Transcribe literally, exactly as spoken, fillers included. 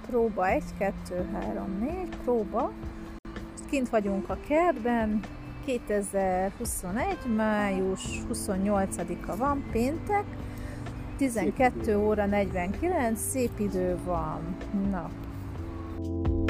próba, egy, kettő, három, négy, próba. Kint vagyunk a kertben, kétezer-huszonegy. május huszonnyolcadika van, péntek, tizenkettő óra negyvenkilenc, szép idő van. Na.